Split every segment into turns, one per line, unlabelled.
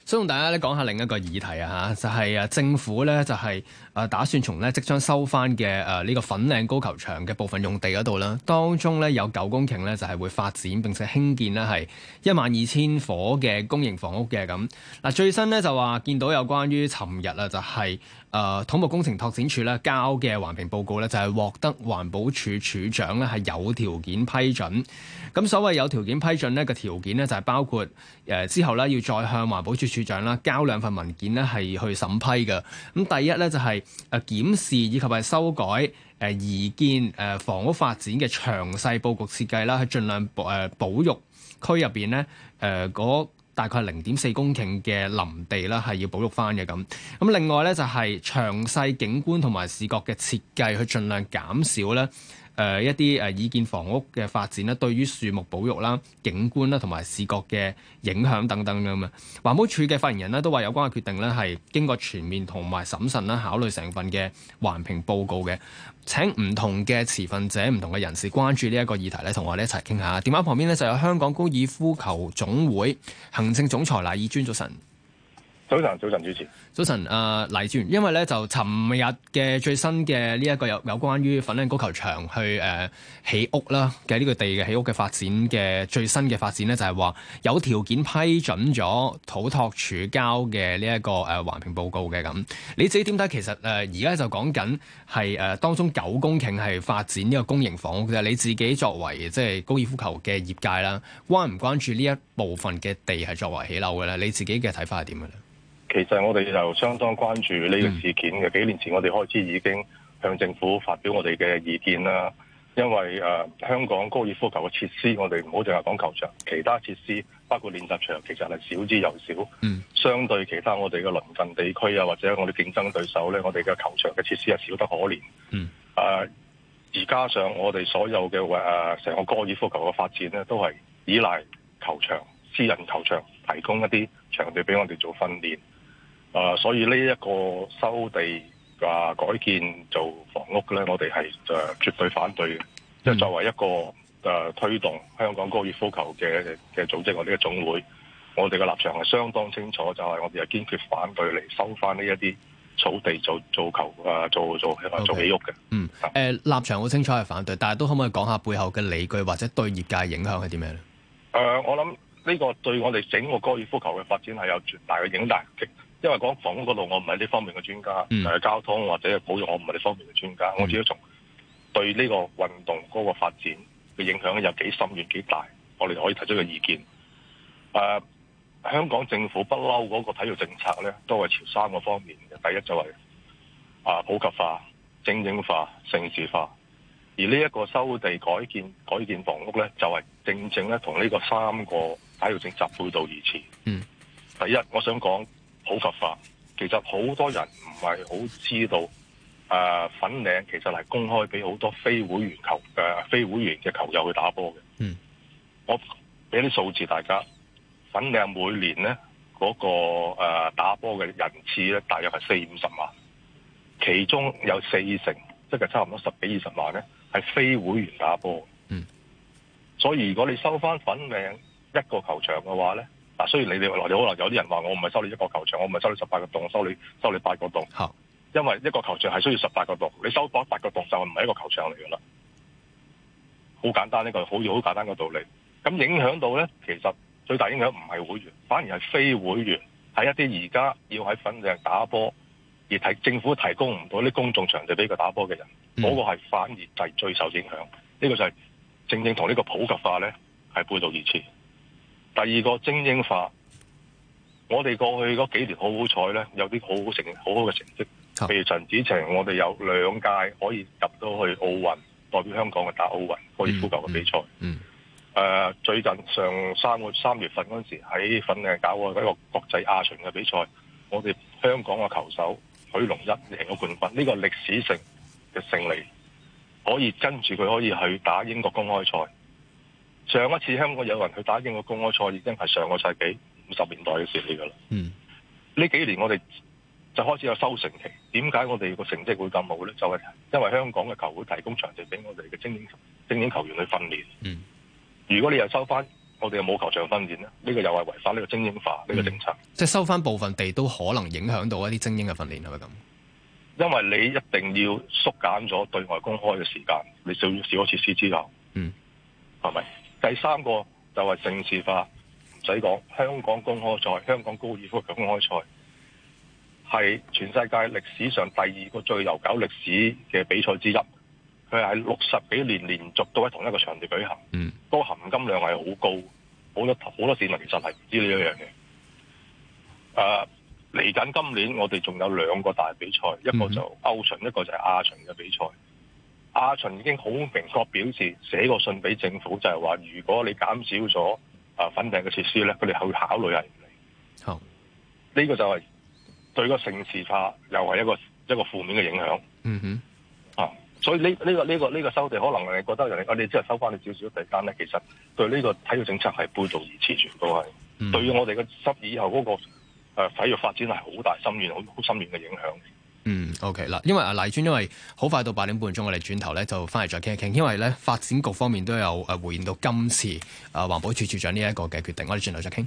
想同大家咧講下另一個議題啊嚇，就係政府咧就係打算從咧即將收翻嘅呢個粉嶺高球場嘅部分用地嗰度啦，當中咧有9公頃咧就係會發展並且興建咧係12000伙嘅公營房屋嘅咁。嗱最新咧就話見到有關於尋日啊就係土木工程拓展署咧交嘅環評報告咧就係獲得環保署署長咧係有條件批准。咁所謂有條件批准呢個條件咧就係包括之後咧要再向環保署署長啦交2份文件咧係去審批嘅。咁第一咧就係檢視以及係修改擬建房屋發展嘅詳細佈局設計啦，去盡量保育區入邊咧嗰大概0.4公頃嘅林地啦，係要保育翻嘅咁。咁另外咧就係詳細景觀同埋視覺嘅設計，去盡量減少咧一啲擬建房屋嘅發展咧，對於樹木保育啦、景觀啦同埋視覺嘅影響等等咁啊。環保署嘅發言人咧都話有關嘅決定咧係經過全面同埋審慎啦，考慮成份嘅環評報告嘅。請唔同嘅持份者、唔同嘅人士關注呢一個議題咧，同我哋一齊傾下。電話旁邊咧就有香港高爾夫球總會行政總裁賴以尊，早晨。
早晨，主持。
早晨，黎智源，因為咧就尋日嘅最新嘅呢一個有關於粉嶺高球場去起屋啦嘅呢個地嘅起屋嘅發展嘅最新嘅發展咧，就係話有條件批准咗土拓署交嘅呢一個環評報告嘅咁。你自己點睇？其實而家就講緊係當中9公頃係發展呢個公營房屋嘅。你自己作為即係高爾夫球嘅業界啦，關唔關注呢一部分嘅地係作為起樓嘅咧？你自己嘅睇法係點嘅咧？
其實我哋就相當關注呢個事件嘅。幾年前我哋開始已經向政府發表我哋嘅意見啦。因為香港高爾夫球嘅設施，我哋唔好淨係講球場，其他設施包括練習場，其實係少之又少。相對其他我哋嘅鄰近地區啊，或者我哋競爭對手咧，我哋嘅球場嘅設施係少得可憐。而加上我哋所有嘅成個高爾夫球嘅發展咧，都係依賴球場、私人球場提供一啲場地俾我哋做訓練。所以呢一個收地改建做房屋咧，我哋係絕對反對嘅。即係作為一個推動香港高爾夫球嘅組織，我哋嘅總會，我哋嘅立場係相當清楚，就係我哋係堅決反對嚟收翻呢一啲草地做起屋嘅。
立場好清楚係反對，但係都可唔可以講下背後嘅理據或者對業界影響係啲咩咧？
我諗呢個對我哋整個高爾夫球嘅發展係有絕大嘅影響。因為講房屋嗰度，我唔係呢方面嘅專家，交通或者保育，我唔係呢方面嘅專家。我只係從對呢個運動嗰個發展嘅影響有幾深遠幾大，我哋可以提出個意見。香港政府不嬲嗰個體育政策咧，都係朝3個方面嘅。第一就係普及化、精英化、城市化。而呢一個收地改建房屋咧，就係正咧同呢個3個體育政策背道而馳。第一，我想講普及化，其實好多人唔係好知道，粉嶺其實係公開俾好多非會員嘅球友去打波嘅。我俾啲數字大家，粉嶺每年咧嗰個打波嘅人次咧，大約係40-50萬，其中有40%，即係差唔多10幾20萬咧，係非會員打波。所以如果你收翻粉嶺一個球場嘅話咧，雖然你可能有啲人話我唔係收你一個球場，我唔係收你18個洞，收你8個洞。因為一個球場係需要18個洞，你收8個洞就唔係一個球場嚟㗎啦。好簡單，呢個好簡單嘅道理。咁影響到咧，其實最大影響唔係會員，反而係非會員，係一啲而家要喺粉嶺打波而政府提供唔到啲公眾場地俾佢打波嘅人，嗰個係反而係最受影響。呢個就係正同呢個普及化咧係背道而馳。第二個精英化，我哋過去嗰幾年好彩咧，有啲好好嘅成績。譬如陳子晴，我哋有2屆可以入到去奧運，代表香港去打奧運高爾夫球嘅比賽。最近3月份嗰陣時喺粉嶺搞過一個國際亞巡嘅比賽，我哋香港嘅球手許龍一贏咗冠軍，呢個歷史性嘅勝利，可以跟住佢可以去打英國公開賽。上一次香港有人去打英國公開賽已經係上個世紀50年代嘅事嚟㗎啦。呢幾年我哋就開始有收成期。點解我哋個成績會咁好咧？就係因為香港嘅球會提供場地俾我哋嘅精英球員去訓練。如果你又收翻我哋又冇球場訓練咧，呢個又係違反呢個精英化呢個政策。
即係收翻部分地都可能影響到一啲精英嘅訓練係咪咁？
因為你一定要縮減咗對外公開嘅時間，你少咗設施之後，係咪？第三個就係城市化，唔使講，香港公開賽、香港高爾夫球公開賽係全世界歷史上第2個最悠久歷史嘅比賽之一。佢係60幾年連續都喺同一個場地舉行，嗰個含金量係好高，好多市民其實係唔知呢一樣嘢。嚟緊今年我哋仲有2個大比賽，一個就歐巡，一個就係亞巡嘅比賽。亞巡已經好明確表示，寫個信俾政府，就係話如果你減少咗粉嶺嘅設施咧，佢哋去考慮係唔嚟。好，呢個就係對個城市化又係一個負面嘅影響。所以呢個收地可能你覺得人哋你只係收翻你少少地間咧，其實對呢個體育政策係背道而馳，全部係對於我哋嘅以後嗰個體育發展係好大深遠、好深遠嘅影響。
OK 嗱，因為黎專，因為好快到8點半鐘，我哋轉頭咧就翻嚟再傾一傾。因為咧發展局方面都有回應到今次環保署署長呢一個嘅決定，我哋轉頭再傾。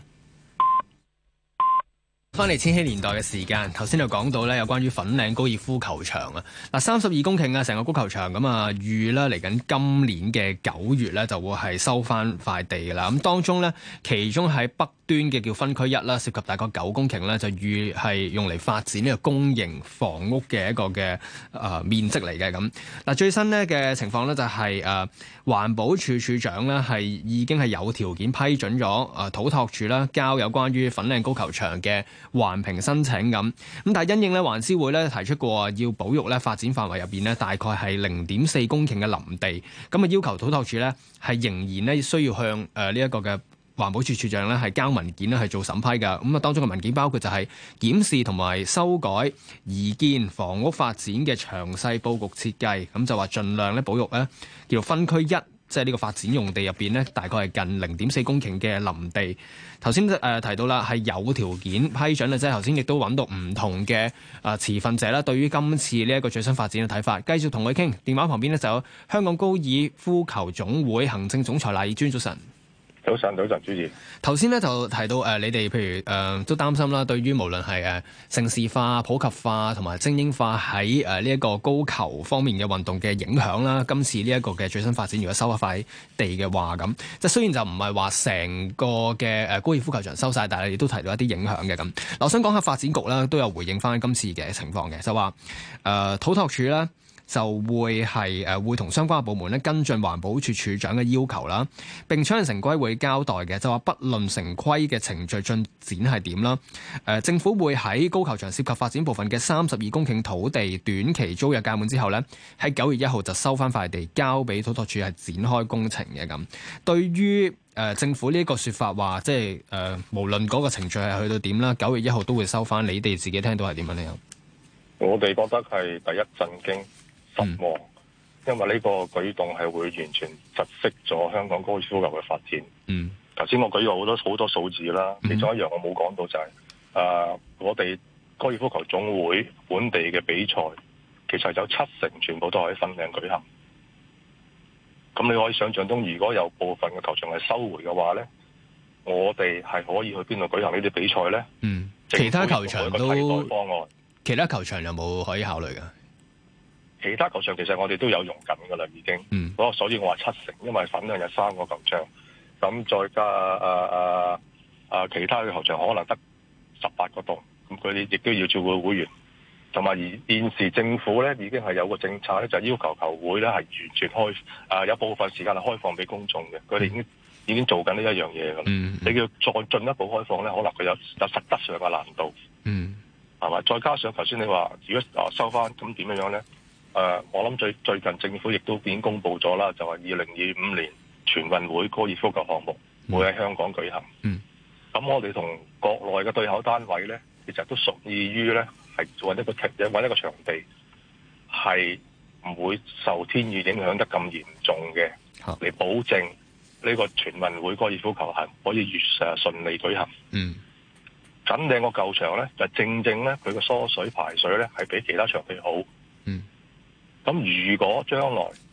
翻嚟千禧年代嘅時間，頭先就講到咧有關於粉嶺高爾夫球場啊，嗱32公頃啊，成個高球場咁啊，預咧嚟緊今年嘅9月咧就會係收翻塊地噶啦。咁當中咧，其中喺北端嘅叫分區1啦，涉及大概9公頃咧，就預係用嚟發展呢個公營房屋嘅一個嘅面積嚟嘅咁。嗱最新呢嘅情況咧就係環保署署長咧係已經係有條件批准咗土拓署啦交有關於粉嶺高球場嘅環評申請咁，但係因應咧環諮會咧提出過要保育咧發展範圍入邊咧大概係0.4公頃嘅林地，咁啊要求土拓署咧係仍然咧需要向呢一個嘅環保署署長咧係交文件咧係做審批㗎，咁啊當中嘅文件包括就係檢視同埋修改擬建房屋發展嘅詳細佈局設計，咁就話盡量咧保育咧叫做分區1。即係呢個發展用地入邊咧，大概係近0.4公頃嘅林地。頭先提到啦，係有條件批准啦，即係頭先亦都揾到唔同嘅持份者啦，對於今次呢一個最新發展嘅睇法，繼續同佢傾。電話旁邊咧就有香港高爾夫球總會行政總裁賴以尊，早晨。
早晨，主持。
頭先咧就提到你哋譬如都擔心啦，對於無論係城市化、普及化同埋精英化喺呢一個高球方面嘅運動嘅影響啦。今次呢一個嘅最新發展，如果收一塊地嘅話，咁即係雖然就唔係話成個嘅高爾夫球場收晒，但係亦都提到一啲影響嘅咁。我想講下發展局啦，都有回應翻今次嘅情況嘅，就話土拓署啦。就會係會同相關嘅部門咧跟進環保署署長嘅要求啦，並且向城規會交代嘅，就話不論城規嘅程序進展係點啦，政府會喺高球場涉及發展部分嘅32公頃土地短期租約屆滿之後呢，喺9月1號就收翻塊地交俾土拓署係展開工程嘅咁。對於政府呢個説法話，即係無論嗰個程序係去到點啦，9月1號都會收翻，你哋自己聽到係點樣呢？
我哋覺得係第一震驚。失望，因為呢個舉動係會完全窒息咗香港高爾夫球嘅發展。頭先我舉過好多數字啦，其中一樣我冇講到就係我哋高爾夫球總會本地嘅比賽，其實有70%全部都係喺粉嶺舉行。咁你可以想象中，如果有部分嘅球場係收回嘅話咧，我哋係可以去邊度舉行呢啲比賽咧？
其他球場都
替代方案，
其他球場有冇可以考慮㗎？
其他球場其實我哋都有用緊㗎啦，已經。所以我話70%，因為粉嶺有3個球場，咁再加其他嘅球場可能得18個洞，咁佢哋亦都要照顧會員。同埋而現時政府咧已經係有個政策咧，就要求球會咧係完全開有部分時間係開放俾公眾嘅，佢哋已經做緊呢一樣嘢㗎啦。你要再進一步開放咧，可能佢有實質上嘅難度。係咪？再加上頭先你話，如果收翻咁點樣咧？我諗最近政府亦都已經公布咗啦，就係2025年全運會高爾夫球項目會喺香港舉行。咁我哋同國內嘅對口單位咧，其實都屬意於咧係揾一個場地，係唔會受天雨影響得咁嚴重嘅，嚟保證呢個全運會高爾夫球係可以順利舉行。粉嶺個舊場咧，就正咧佢個疏水排水咧係比其他場地好。咁如果將來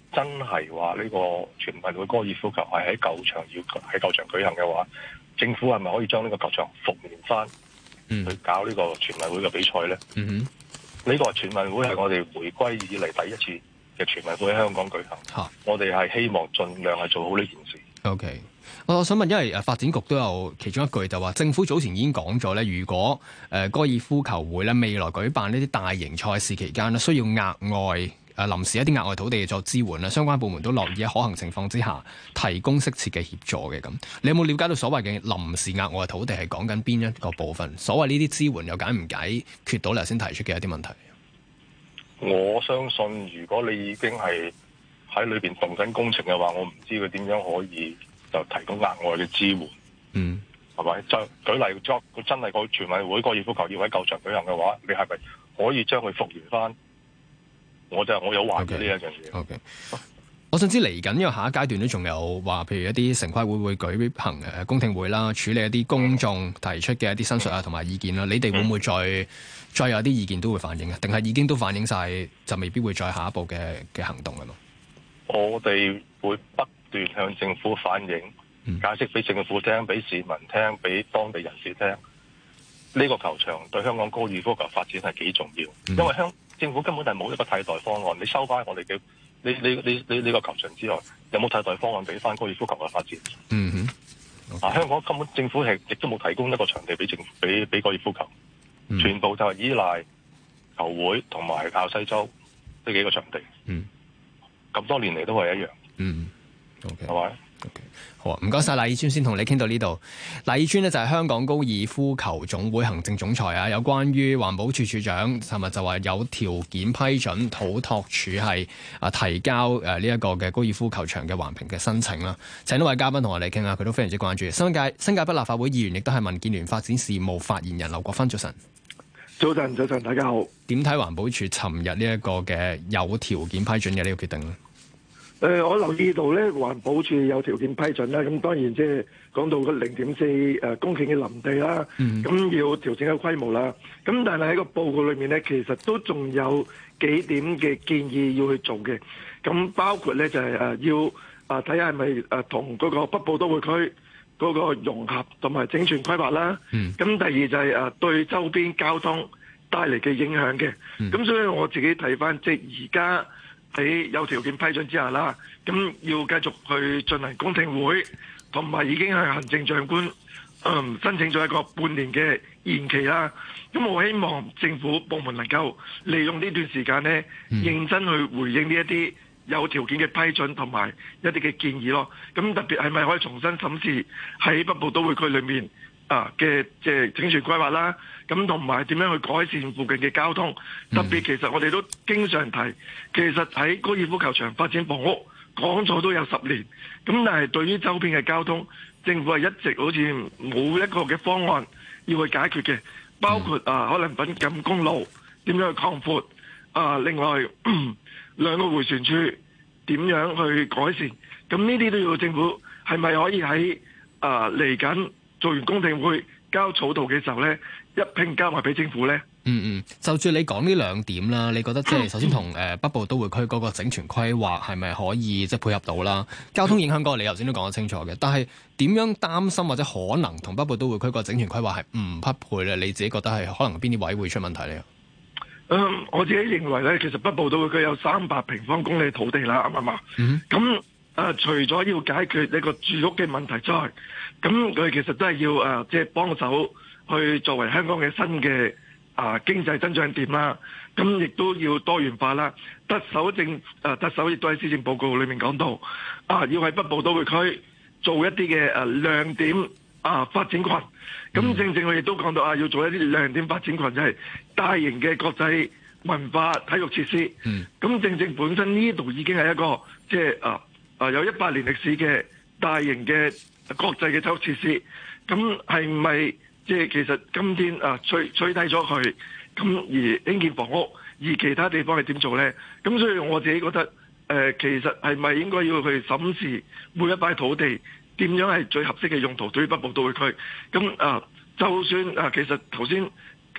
真係話呢個全運會高爾夫球係喺舊場舉行嘅話，政府係咪可以將呢個球場復原翻，去搞呢個全運會嘅比賽咧？呢個全運會係我哋回歸以嚟第一次嘅全運會喺香港舉行，我哋係希望盡量係做好呢件事。
OK， 我想問，因為發展局都有其中一句就話，政府早前已經講咗咧，如果高爾夫球會咧未來舉辦呢啲大型賽事期間咧，需要額外臨時一啲額外土地作支援啦，相關部門都樂意喺可行情況之下提供適切嘅協助嘅。咁你有冇了解到所謂嘅臨時額外土地係講緊邊一個部分？所謂呢啲支援又解唔解決到你頭先提出嘅一啲問題？
我相信如果你已經係喺裏邊動緊工程嘅話，我唔知佢點樣可以就提供額外嘅支援。係咪？就舉例，佢真係個全運會高爾夫球要喺舊場舉行嘅話，你係咪可以將佢復原翻？我有懷疑呢一樣嘢。
Okay. 我想知嚟緊，因為下一階段都仲有話，譬如一啲城規會舉行公聽會啦，處理一啲公眾提出嘅一啲申述啊同埋意見啦。你哋會唔會再有啲意見都會反映啊？定係已經都反映晒，就未必會再下一步嘅行動㗎嘛？
我哋會不斷向政府反映，解釋俾政府聽，俾市民聽，俾當地人士聽。呢個球場對香港高爾夫球發展係幾重要，因為政府根本係冇一個替代方案。你收翻我哋嘅呢個球場之外，有冇替代方案俾翻高爾夫球嘅發展？香港根本政府係亦都冇提供一個場地俾高爾夫球，全部就係依賴球會同埋滘西洲呢幾個場地。咁多年嚟都係一樣。係咪？
好啊，唔該晒賴以尊，先同你傾到呢度。賴以尊呢就係香港高爾夫球總會行政總裁啊，有關於環保署署長尋日就話有條件批准土拓署係提交呢一個嘅高爾夫球場嘅環評嘅申請啦。請一位嘉賓同我哋傾下，佢都非常之關注。新界北立法會議員亦都係民建聯發展事務發言人劉國勳，早晨。
早晨，大家好。
點睇環保署尋日呢一個嘅有條件批准嘅呢個決定呢？
我留意到咧，環保署有條件批准啦。咁當然即係講到個0.4公頃嘅林地啦，咁要調整嘅規模啦。咁但係喺個報告裏面咧，其實都仲有幾點嘅建議要去做嘅。咁包括咧就係要睇下係咪同嗰個北部都會區嗰個融合同埋整全規劃啦。咁第二就係對周邊交通帶嚟嘅影響嘅。咁所以我自己睇翻即係而家喺有條件批准之下啦，咁要繼續去進行公聽會，同埋已經係行政長官申請咗一個半年嘅延期啦。咁我希望政府部門能夠利用呢段時間呢，認真去回應呢一啲有條件嘅批准同埋一啲嘅建議咯。咁特別係咪可以重新審視喺北部都會區裏面嘅即係整全規劃啦，咁同埋點樣去改善附近嘅交通？特別其實我哋都經常提，其實喺高爾夫球場發展房屋講咗都有10年，咁但係對於周邊嘅交通，政府係一直好似冇一個嘅方案要去解決嘅，包括可能粉錦公路點樣去擴闊，另外兩個迴旋處點樣去改善？咁呢啲都要政府係咪可以喺嚟緊做完公聽會交草圖嘅時候咧，一併交埋俾政府咧？
就住你講呢兩點啦，你覺得即係首先同北部都會區嗰個整全規劃係咪可以即係配合到啦？交通影響嗰個你頭先都講得清楚嘅，但係點樣擔心或者可能同北部都會區個整全規劃係唔匹配咧？你自己覺得係可能邊啲位會出問題咧？
我自己認為咧，其實北部都會區有300平方公里土地啦，啱唔啱？咁除咗要解決呢個住屋嘅問題之外，咁佢其實都係要即係幫手去作為香港嘅新嘅經濟增長點啦。咁亦都要多元化啦。特首亦都喺施政報告裏面講到，要喺北部都會區做一啲嘅亮點發展群。咁正佢亦都講到要做一啲亮點發展群，就係大型嘅國際文化體育設施。咁正本身呢度已經係一個即係有100年歷史嘅大型嘅國際嘅體育設施，咁係咪即係其實今天取締咗佢，咁而興建房屋，而其他地方係點做呢？咁所以我自己覺得其實係咪應該要去審視每一塊土地點樣係最合適嘅用途對於北部都會區？咁就算其實頭先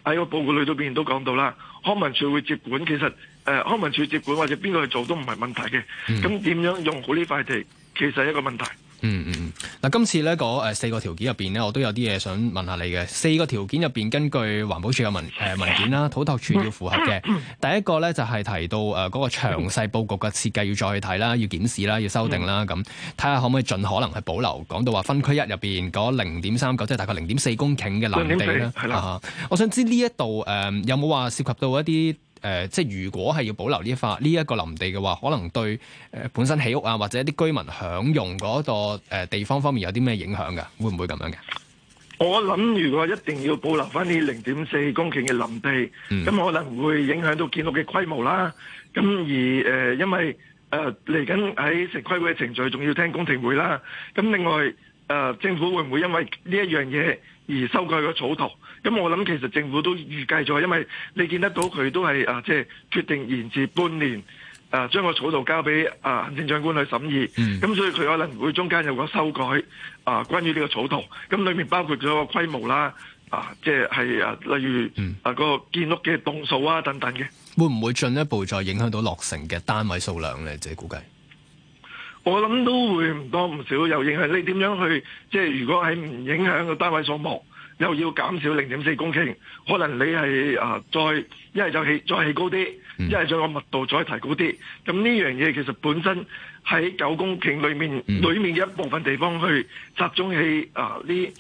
喺個報告裏邊都講到啦，康文署會接管，其實康文署接管或者邊個去做都唔係問題嘅。咁點樣用好呢塊地，其實係一個問題。
嗱，今次咧嗰4個條件入邊咧，我都有啲嘢想問下你嘅。4個條件入邊，根據環保署嘅文件啦，土拓署要符合嘅。第一個咧就係提到嗰個詳細佈局嘅設計要再去睇啦，要檢視啦，要修訂啦，咁睇下可唔可以盡可能去保留。講到話分區1入邊嗰0.39，即係大概0.4公頃嘅林地咧。我想知呢一度有冇話涉及到一啲？即係如果係要保留呢一個林地嘅話，可能對本身起屋啊，或者一啲居民享用嗰個地方方面有啲咩影響㗎？會唔會咁樣嘅？
我諗如果一定要保留翻呢0.4公頃嘅林地，咁可能會影響到建屋嘅規模啦。咁而因為嚟緊喺城規會嘅程序，仲要聽公聽會啦。咁另外政府會唔會因為呢一樣嘢而修改個草圖？咁我諗其實政府都預計咗，因為你見得到佢都係即係決定延遲半年，將個草圖交俾行政長官去審議。咁所以佢可能會中間有個修改關於呢個草圖。咁裏面包括咗個規模啦，即係例如個建屋嘅棟數啊等等嘅。
會唔會進一步再影響到落成嘅單位數量咧？自己估計。
我諗都會唔多唔少有影響。你點樣去即係如果係唔影響個單位數目，又要減少0.4公頃，可能你係再一係就再起高啲，一係再個密度再提高啲。咁呢樣嘢其實本身喺9公頃裏面嘅一部分地方去集中起呢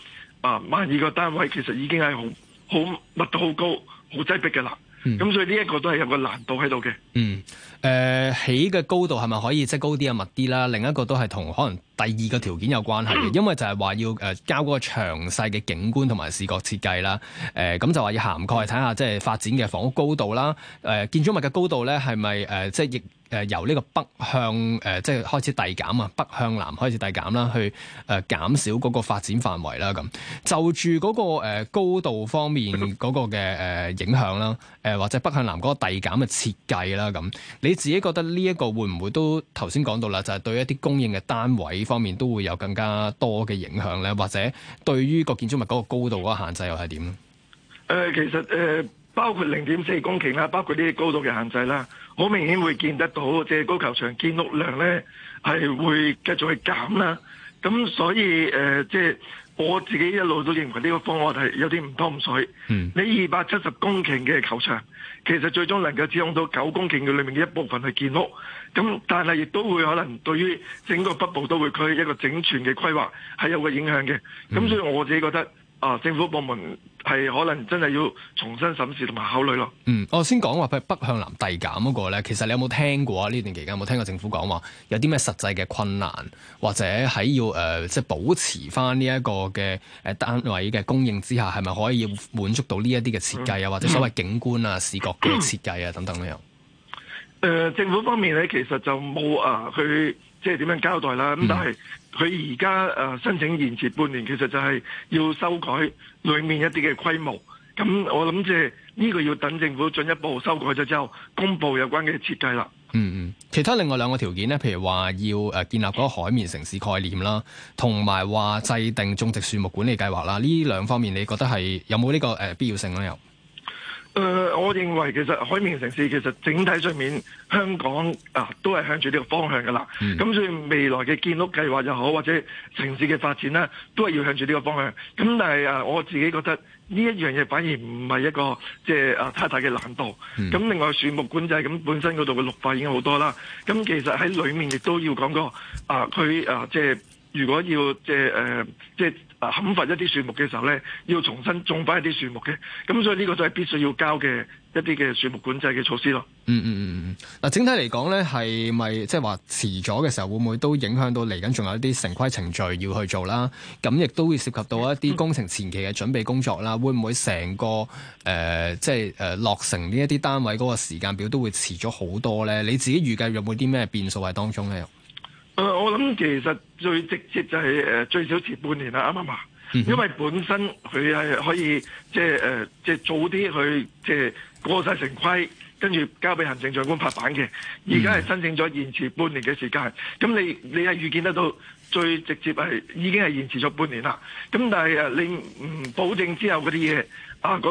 12個單位，其實已經係好密度好高、好擠迫嘅啦。咁所以呢一個都係有個難度喺度嘅。
起嘅高度係咪可以即係高啲啊、密啲啦？另一個都係同可能第二個條件有關係嘅，因為就係話要交嗰個詳細嘅景觀同埋視覺設計啦。咁就話要涵蓋睇下即係發展嘅房屋高度啦。建築物嘅高度咧係咪即係由呢個北向即係開始遞減啊，北向南開始遞減啦，去減少嗰個發展範圍啦。咁就住嗰個高度方面嗰個嘅影響啦，或者北向南嗰個遞減嘅設計啦，咁你自己覺得呢一個會唔會都頭先講到啦，就係對一啲供應嘅單位方面都會有更加多嘅影響咧，或者對於個建築物嗰個高度嗰個限制又係點咧？
其實包括0.4公頃啦，包括呢啲高度嘅限制啦，好明顯會見得到，即係高球場建屋量咧係會繼續去減啦。咁所以即係我自己一路都認為呢個方案係有啲唔湯唔水。你270公頃嘅球場，其實最終能夠使用到9公頃嘅裏面嘅一部分去建屋。咁但係亦都會可能對於整個北部都會區一個整全嘅規劃係有個影響嘅。咁所以我自己覺得政府部門係可能真係要重新審視同埋考慮咯。
我先講話譬如北向南遞減嗰個咧，其實你有冇聽過啊？呢段期間有冇聽過政府講話有啲咩實際嘅困難，或者喺要即係保持翻呢一個嘅單位嘅供應之下，係咪可以滿足到呢一啲嘅設計啊，或者所謂景觀啊、視覺嘅設計啊等等咧？
政府方面咧，其實就冇去即係點樣交代啦。咁但係佢而家申請延遲半年，其實就係要修改裏面一啲嘅規模。咁我諗即係呢個要等政府進一步修改咗之後，公布有關嘅設計啦。
其他另外2個條件咧，譬如話要建立嗰個海綿城市概念啦，同埋話制定種植樹木管理計劃啦，呢2方面你覺得係有冇呢個必要性咧？又？
我認為其實海綿城市其實整體上面香港都係向住呢個方向㗎啦。咁所以未來嘅建屋計劃又好，或者城市嘅發展咧，都係要向住呢個方向。咁但係我自己覺得呢一樣嘢反而唔係一個即係太大嘅難度。咁另外樹木管制咁本身嗰度嘅綠化已經好多啦。咁其實喺裏面亦都要講過佢即係如果要即係砍伐一啲樹木嘅時候咧，要重新種翻一啲樹木嘅，咁所以呢個都係必須要交嘅一啲嘅樹木管制嘅措施咯。
嗱，整體嚟講咧，係咪即係話遲咗嘅時候，會唔會都影響到嚟緊仲有一啲城規程序要去做啦？咁亦都會涉及到一啲工程前期嘅準備工作啦。會唔會成個即係落成呢一啲單位嗰個時間表都會遲咗好多咧？你自己預計有冇啲咩變數喺當中咧？
我諗其實最直接就係最少遲半年啦，啱唔啱？因為本身佢係可以即係早啲去即係過晒城規，跟住交俾行政長官拍板嘅。而家係申請咗延遲半年嘅時間，咁你係預見得到最直接係已經係延遲咗半年啦。咁但係你唔保證之後嗰啲嘢嗰個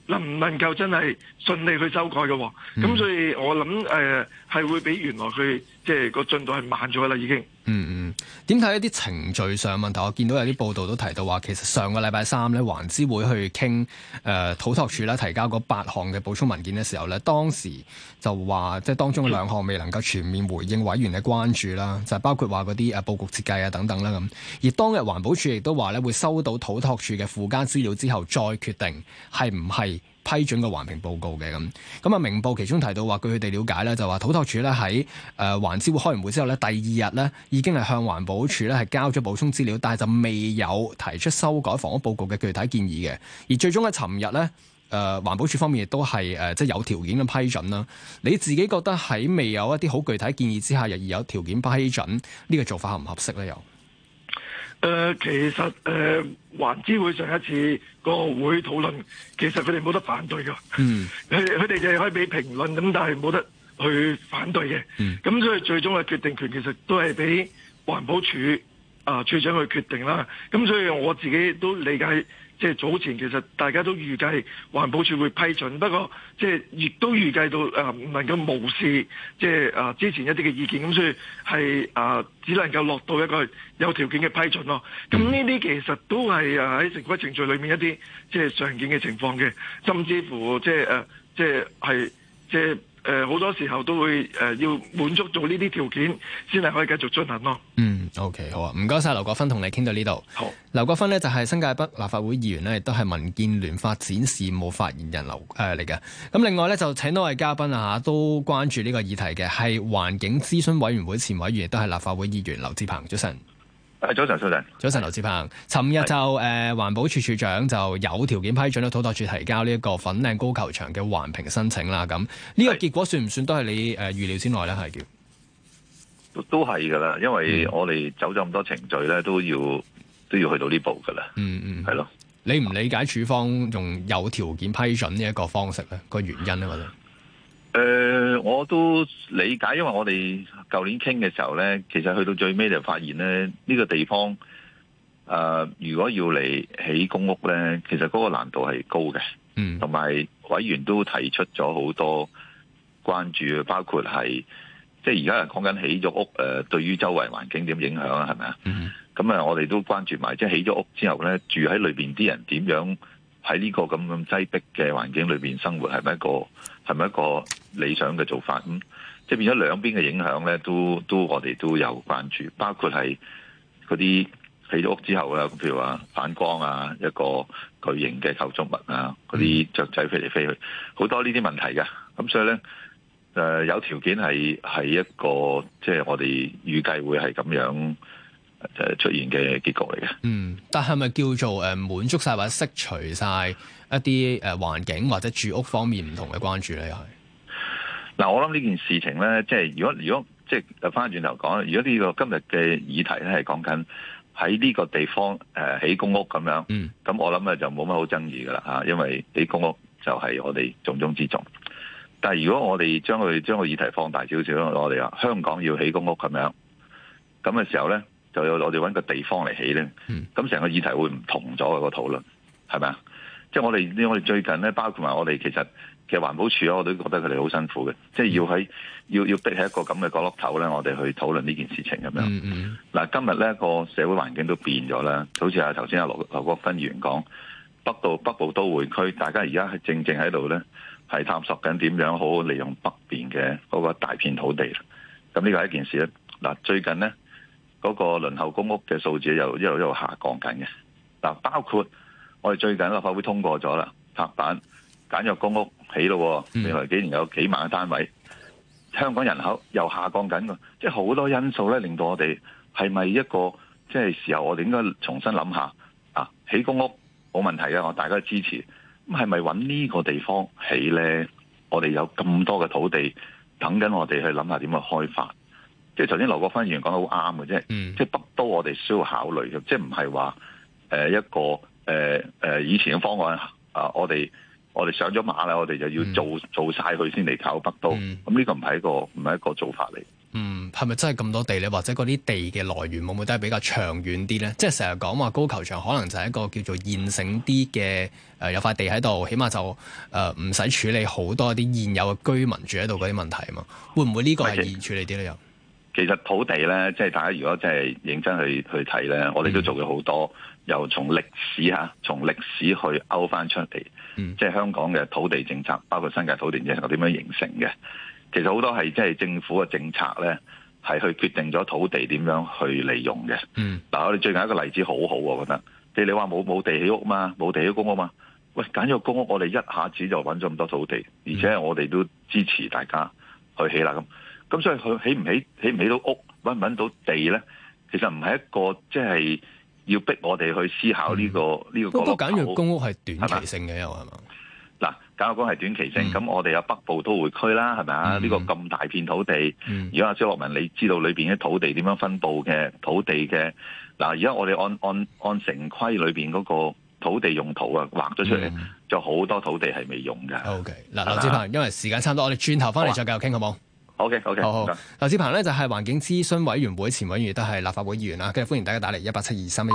能唔能夠真係順利去修改嘅喎。咁所以我諗係會比原來佢即係個進度係慢咗啦已經。
點睇一啲程序上問題？我見到有啲報道都提到話，其實上個禮拜三咧，環諮會去傾土拓署咧提交嗰8項嘅補充文件嘅時候咧，當時就話即係當中嘅2項未能夠全面回應委員嘅關注啦，就係包括話嗰啲佈局設計啊等等啦咁。而當日環保署亦都話咧會收到土拓署嘅附加資料之後，再決定係唔係批准個環評報告嘅咁。咁啊，明報其中提到話，據佢哋了解咧，就話土拓署咧喺環諮會開完會之後咧，第2日咧已經係向環保署咧係交咗補充資料，但係就未有提出修改房屋報告嘅具體建議嘅。而最終喺尋日咧，環保署方面亦都係即係有條件嘅批准啦。你自己覺得喺未有一啲好具體建議之下，而有條件批准呢個做法合唔合適咧？又？
其實環諮會上一次個會討論，其實佢哋冇得反對㗎。佢哋就係可以俾評論咁，但係冇得去反對嘅。咁所以最終嘅決定權其實都係俾環保署署長去決定啦。咁所以我自己都理解。即係早前其實大家都預計環保署會批准，不過即係亦都預計到唔能夠無視即係之前一啲嘅意見，咁所以係只能夠落到一個有條件嘅批准咯。咁呢啲其實都係喺成規程序裏面一啲即係常見嘅情況嘅，甚至乎即係好多時候都會要滿足到呢啲條件先係可以繼續進行咯。
OK 好啊，唔該晒劉國勳，同你傾到呢度。好，劉國勳呢就係新界北立法會議員呢，亦都係民建聯發展事務發言人嚟嘅。咁另外呢，就請到位嘉賓都關注呢個議題嘅，係環境諮詢委員會前委員，亦都係立法會議員劉智鵬。早晨。
早晨，
早晨，劉智鵬。尋日就環保署署長就有條件批准咗土拓署提交呢一個粉嶺高球場嘅環評申請啦。咁呢個結果算唔算都係你預料之內咧？係叫
都係噶啦，因為我哋走咗咁多程序咧，都要去到呢步噶啦。係咯。
你唔理解署方用有條件批准呢一個方式咧？個原因咧，我覺得。
我都理解，因為我哋舊年傾嘅時候咧，其實去到最尾就發現咧，呢個地方如果要嚟起公屋咧，其實嗰個難度係高嘅。同埋委員都提出咗好多關注，包括係即係而家係講緊起咗屋對於周圍環境點影響啊？係咪啊？咁我哋都關注埋，即係起咗屋之後咧，住喺裏邊啲人點樣喺呢個咁擠迫嘅環境裏邊生活，係咪一個理想嘅做法？咁即係變咗兩邊嘅影響咧，都我哋都有關注，包括係嗰啲起咗屋之後啦，譬如話反光啊，一個巨型嘅構築物啊，嗰啲雀仔飛嚟飛去，好多呢啲問題嘅。咁所以咧，有條件係一個即係我哋預計會係咁樣出現嘅結局嚟嘅。
但係咪叫做滿足晒或者釋除晒一啲環境或者住屋方面唔同嘅關注咧？又係
嗱，我諗呢件事情咧，即係如果即係翻轉頭講，如果呢個今日嘅議題咧係講緊喺呢個地方起公屋咁樣，咁我諗就冇乜好爭議噶啦嚇，因為起公屋就係我哋重中之重。但係如果我哋將個議題放大少少，我哋話香港要起公屋咁樣，咁嘅時候咧，就要我哋揾個地方嚟起咧，咁成個議題會唔同咗個討論，係咪啊？即係我哋最近咧，包括埋我哋其實環保署我都覺得佢哋好辛苦嘅，即係要逼喺一個咁嘅角落頭咧，我哋去討論呢件事情咁樣。嗱，今日咧個社會環境都變咗啦，好似頭先劉國勳議員講，北部都會區，大家而家係正喺度咧，係探索緊點樣好好利用北邊嘅嗰個大片土地。咁呢個係一件事咧。嗱，最近咧嗰個輪候公屋嘅數字又一路下降緊嘅。嗱，包括我哋最近立法會通過咗啦，拍板簡約公屋起咯，未來幾年有幾萬個單位。香港人口又下降緊㗎，即係好多因素咧，令到我哋係咪一個即係時候，我哋應該重新諗下啊！起公屋冇問題嘅，我大家支持。咁係咪揾呢個地方起咧？我哋有咁多嘅土地等緊我哋去諗下點去開發。即係頭先劉國勳議員講得好啱嘅啫，即係北都我哋需要考慮嘅，即係唔係話一個以前嘅方案啊，我哋上咗馬啦，我哋就要做晒佢先嚟搞北都，咁呢個唔係一個做法嚟。
係咪真係咁多地咧？或者嗰啲地嘅來源會唔會都係比較長遠啲咧？即係成日講話高球場可能就係一個叫做現成啲嘅有塊地喺度，起碼就唔使處理好多一啲現有嘅居民住喺度嗰啲問題啊嘛。會唔會呢個係易處理啲咧？又
其實土地咧，即係大家如果真係認真去睇咧，我哋都做咗好多，由從歷史去勾翻出嚟，即係香港嘅土地政策，包括新界土地政策點樣形成嘅。其實好多係即係政府嘅政策咧，係去決定咗土地點樣去利用嘅。嗱，我哋最近一個例子好好，我覺得，你話冇地起屋嘛，冇地起公屋嘛？喂，揀咗公屋，我哋一下子就揾咗咁多土地，而且我哋都支持大家去起啦咁所以佢起唔起到屋，揾唔揾到地咧？其實唔係一個即係要逼我哋去思考呢個角落。
簡約公屋係短期性嘅又係嘛？
嗱，簡約公屋係短期性，咁我哋有北部都會區啦，係咪啊？呢個咁大片土地，如果阿蕭洛汶你知道裏邊嘅土地點樣分佈嘅土地嘅，嗱，而家我哋按城規裏邊嗰個土地用途啊畫咗出嚟，就好多土地係未用嘅。
OK， 嗱，劉志鵬，因為時間差唔多，我哋轉頭翻嚟再繼續傾好冇？
好嘅，
好。劉志鵬咧就係環境諮詢委員會前委員，亦都係立法會議員啦。今日歡迎大家打嚟1872311。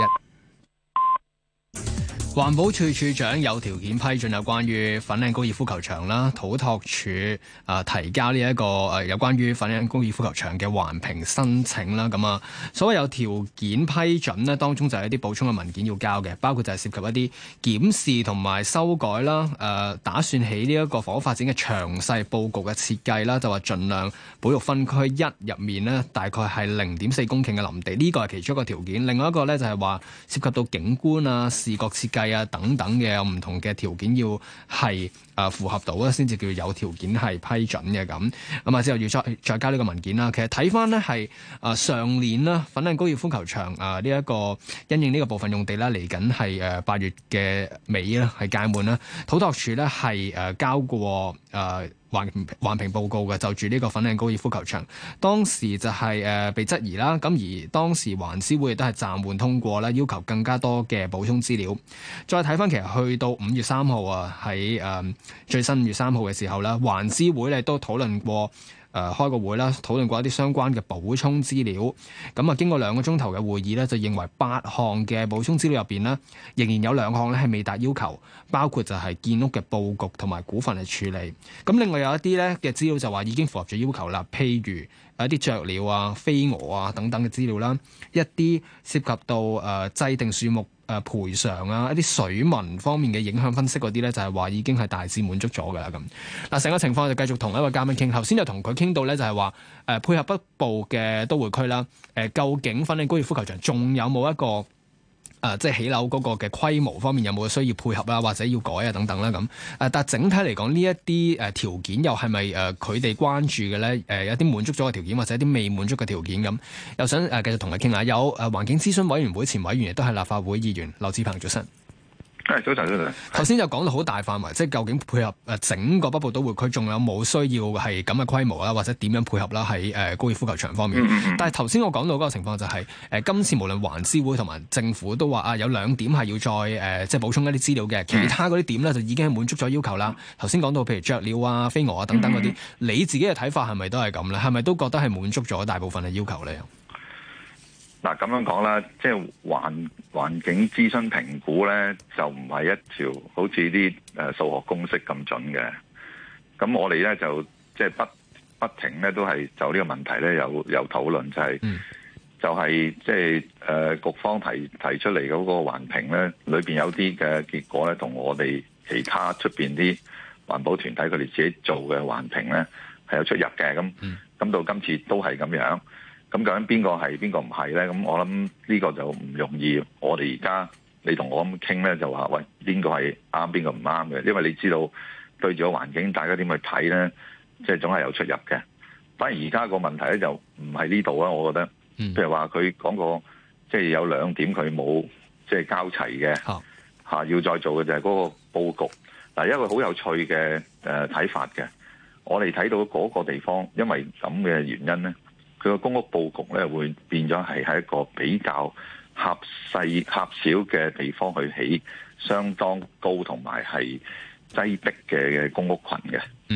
環保署署長有條件批准有關於粉嶺高爾夫球場啦，土拓署提交呢一個有關於粉嶺高爾夫球場嘅環評申請啦。咁所謂有條件批准呢，當中就係一啲補充嘅文件要交嘅，包括就係涉及一啲檢視同埋修改啦。打算起呢一個房屋發展嘅詳細佈局嘅設計啦，就話盡量保育分區1入面呢，大概係0.4公頃嘅林地，呢個係其中一個條件。另外一個呢，就係話涉及到景觀啊、視覺設計啊等等嘅有唔同嘅條件要係符合到咧，先至叫有條件係批准嘅咁。之後要再交呢個文件啦。其實睇翻呢係上年啦，粉嶺高爾夫球場呢一個因應呢個部分用地啦，嚟緊係8月嘅尾啦，係屆滿啦。土拓署呢係交過環評報告嘅，就住呢個粉嶺高爾夫球場，當時就係被質疑啦。咁而當時環諮會亦都係暫緩通過啦，要求更加多嘅補充資料。再睇翻其實去到5月3號啊，喺最新5月3號嘅時候啦，環諮會咧都討論過。開個會啦，討論過一啲相關嘅補充資料。咁經過2個鐘頭嘅會議咧，就認為8項嘅補充資料入邊呢，仍然有2項咧係未達要求，包括就係建屋嘅佈局同埋股份嘅處理。咁另外有一啲咧嘅資料就話已經符合咗要求啦，譬如一啲雀鳥啊、飛蛾啊等等嘅資料啦，一啲涉及到制定樹木賠償啊，一啲水文方面嘅影響分析嗰啲咧，就係話已經係大致滿足咗㗎啦咁。嗱，成個情況就繼續同一位嘉賓傾。頭先就同佢傾到咧，就係話配合北部嘅都會區啦。究竟粉嶺高爾夫球場仲有冇一個即係起樓嗰個嘅規模方面有冇需要配合啊，或者要改啊等等啦咁。但係整體嚟講，呢一啲條件又係咪佢哋關注嘅咧？有啲滿足咗嘅條件，或者一啲未滿足嘅條件咁，又想繼續同佢傾下。有環境諮詢委員會前委員，亦都係立法會議員劉志鵬，早晨。
早晨。
頭先就講到好大範圍，即係究竟配合整個北部都會區，仲有冇需要係咁嘅規模啦，或者點樣配合啦？喺高爾夫球場方面。但係頭先我講到嗰個情況就係今次無論環諮會同埋政府都話有2點係要再即係補充一啲資料嘅，其他嗰啲點咧就已經係滿足咗要求啦。頭先講到譬如雀鳥啊、飛蛾啊等等嗰啲，你自己嘅睇法係咪都係咁咧？係咪都覺得係滿足咗大部分嘅要求咧？
嗱，咁樣講啦，即係環境諮詢評估咧，就唔係一條好似啲數學公式咁準嘅。咁我哋咧就即係不停咧都係就呢個問題咧有討論，就係即係局方提出嚟嗰個環評咧，裏邊有啲嘅結果咧，同我哋其他出邊啲環保團體佢哋自己做嘅環評咧係有出入嘅。咁到今次都係咁樣。咁究竟邊個係邊個唔係咧？咁我諗呢個就唔容易。我哋而家你同我咁傾咧，就話喂，邊個係啱，邊個唔啱嘅？因為你知道對住個環境，大家點去睇咧，即係總係有出入嘅。反而而家個問題咧就唔係呢度啊，我覺得。譬如話佢講過，即係有2點佢冇即係交齊嘅要再做嘅就係嗰個佈局。嗱，一個好有趣嘅睇法嘅，我哋睇到嗰個地方，因為咁嘅原因咧。佢個公屋佈局咧會變咗係喺一個比較狹小嘅地方去起相當高同埋係擠迫嘅公屋群嘅。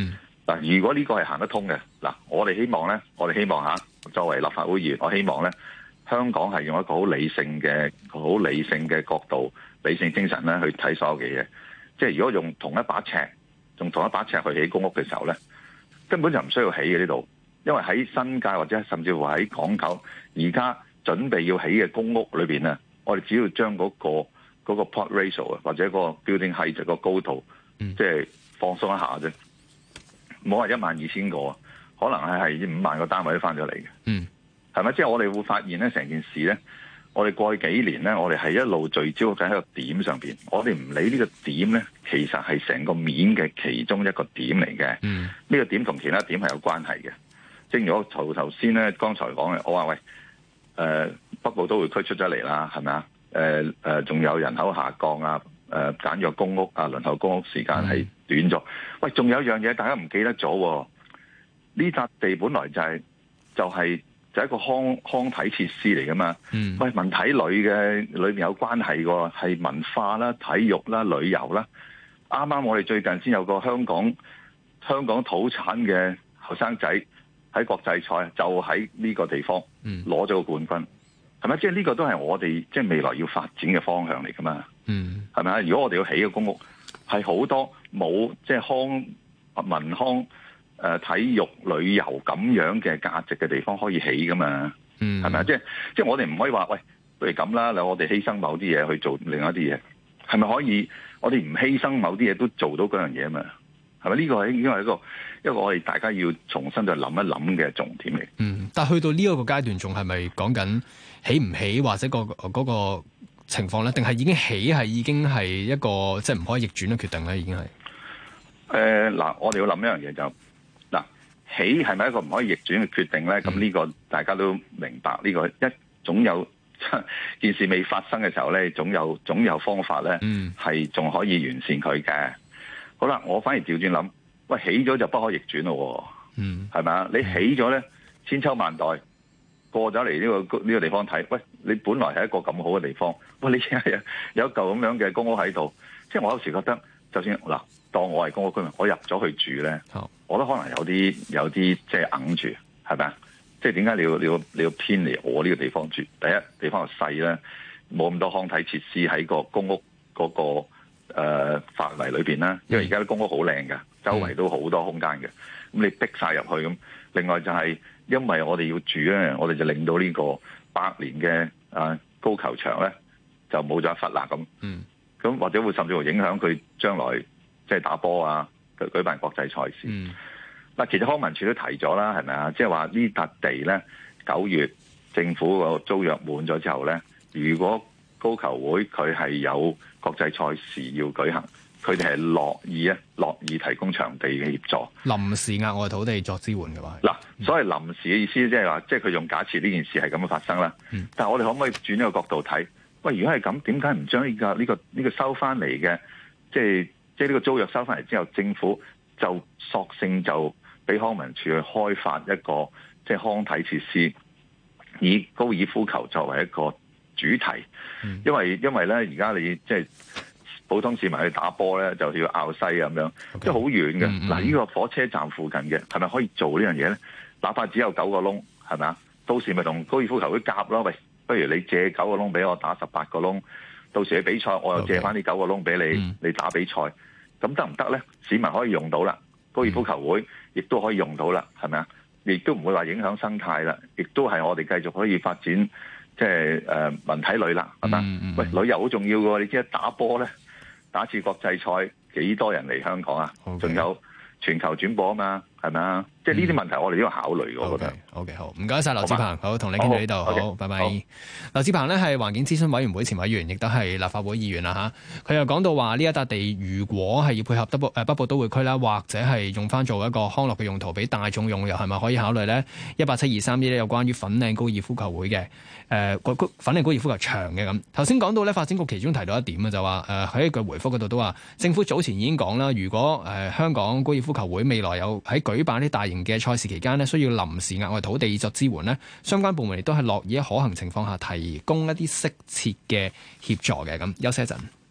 嗱，如果呢個係行得通嘅，嗱，我哋希望嚇，作為立法會議員，我希望咧，香港係用一個好理性嘅角度、理性精神咧去睇所有嘅嘢。即係如果用同一把尺去起公屋嘅時候咧，根本就唔需要起嘅呢度，因為喺新界或者甚至乎喺港九而家準備要起嘅公屋裏邊啊，我哋只要將嗰個 plot ratio 啊，或者個 building height 個高度，即係放鬆一下啫。冇話12000個，可能係5萬個單位都翻咗嚟嘅，係咪？即係我哋會發現咧，成件事咧，我哋過去幾年咧，我哋係一路聚焦緊喺個點上邊，我哋唔理呢個點咧，其實係成個面嘅其中一個點嚟嘅。呢個點同其他點係有關係嘅。正如我頭先咧，剛才講嘅，我話喂，北部都會區出咗嚟啦，係咪啊？仲有人口下降啊，簡約公屋啊，輪候公屋時間係短咗。喂，仲有一樣嘢大家唔記得咗，呢笪地本來就係一個康體設施嚟噶嘛。喂，文體旅嘅裏面有關係喎，係文化啦、體育啦、旅遊啦。啱啱我哋最近先有個香港土產嘅後生仔喺國際賽就喺呢個地方攞咗個冠軍，係咪？即係呢個都係我哋即係未來要發展嘅方向嚟噶嘛。係咪啊？如果我哋要起嘅公屋係好多冇即係文康、體育、旅遊咁樣嘅價值嘅地方可以起噶嘛？係咪啊？即係我哋唔可以話喂，不如咁啦，我哋犧牲某啲嘢去做另外一啲嘢，係咪可以？我哋唔犧牲某啲嘢都做到嗰樣嘢啊嘛？係咪？呢個係應該係一個我哋大家要重新再諗一諗嘅重點嚟。
但係去到呢一個階段，仲係咪講緊起唔起或者嗰個情況咧？定係已經係一個即係唔可以逆轉嘅決定咧？已經係
嗱，我哋要諗一樣嘢就嗱，起係咪一個唔可以逆轉嘅決定咧？咁呢個大家都明白，呢個總有件事未發生嘅時候咧，總有方法咧，係仲可以完善佢嘅。好啦，我反而調轉諗，喂，起咗就不可逆轉咯，係咪啊？你起咗咧，千秋萬代過咗嚟呢個地方睇，喂，你本來係一個咁好嘅地方，喂，你係有一嚿咁樣嘅公屋喺度，即係我有時覺得，就算嗱，當我係公屋居民，我入咗去住咧，我都可能有啲即係硬住，係咪啊？即係點解你要偏離我呢個地方住？第一，地方又細咧，冇咁多康體設施喺個公屋嗰個範圍裏邊啦。因為而家啲公屋好靚㗎，周圍都好多空間嘅。咁你逼晒入去咁，另外就係因為我哋要住咧，我哋就令到呢個100年嘅高球場咧就冇咗一忽啦咁。咁或者會甚至乎影響佢將來即係打波啊，舉辦國際賽事。嗱，其實康文署都提咗啦，係咪啊？即係話呢笪地咧，9月政府個租約滿咗之後咧，如果高球會佢係有國際賽事要舉行，佢哋係樂意提供場地嘅協助，臨
時額外土地作支援嘅話。
嗱，所謂臨時嘅意思即係話，即係佢用假設呢件事係咁樣發生啦。但係我哋可唔可以轉一個角度睇？喂，如果係咁，點解唔將呢個收翻嚟嘅，即係呢個租約收翻嚟之後，政府就索性就俾康文署去開發一個即係康體設施，以高爾夫球作為一個主題。因為咧，而家你即係普通市民去打波咧，就要拗西咁樣，即係好遠嘅。嗱，呢個火車站附近嘅，係咪可以做呢樣嘢咧？哪怕只有9個窿，係咪啊？到時咪同高爾夫球會夾咯。喂，不如你借9個窿俾我打18個窿，到時你比賽我又借翻呢9個窿俾你，你打比賽，咁得唔得咧？市民可以用到啦，高爾夫球會亦都可以用到啦，係咪啊？亦都唔會話影響生態啦，亦都係我哋繼續可以發展即係文體旅啦，係嘛？喂，旅遊好重要嘅喎，你知打波咧，打次國際賽幾多人嚟香港啊？仲有全球轉播啊嘛，係咪啊？即係呢啲問題我哋都要考慮，我覺得。OK， 好，唔該晒劉志鵬，好，同你傾到呢度，好，拜拜。劉志鵬呢係環境諮詢委員會前委員，亦都係立法會議員啦嚇。佢又講到話呢一笪地如果係要配合北部都會區啦，或者係用翻做一個康樂嘅用途，俾大眾用，又係咪可以考慮呢？18723呢有關於粉嶺高爾夫球會嘅粉嶺高爾夫球場嘅咁。頭先講到呢，發展局其中提到一點啊，就話喺一句回覆嗰度都話，政府早前已經講啦，如果香港高爾夫球會未來有喺舉辦啲大型嘅賽事期間呢，需要臨時額外土地作支援呢，相關部門亦都係樂意喺可行情況下提供一啲適切嘅協助嘅咁。休息一陣。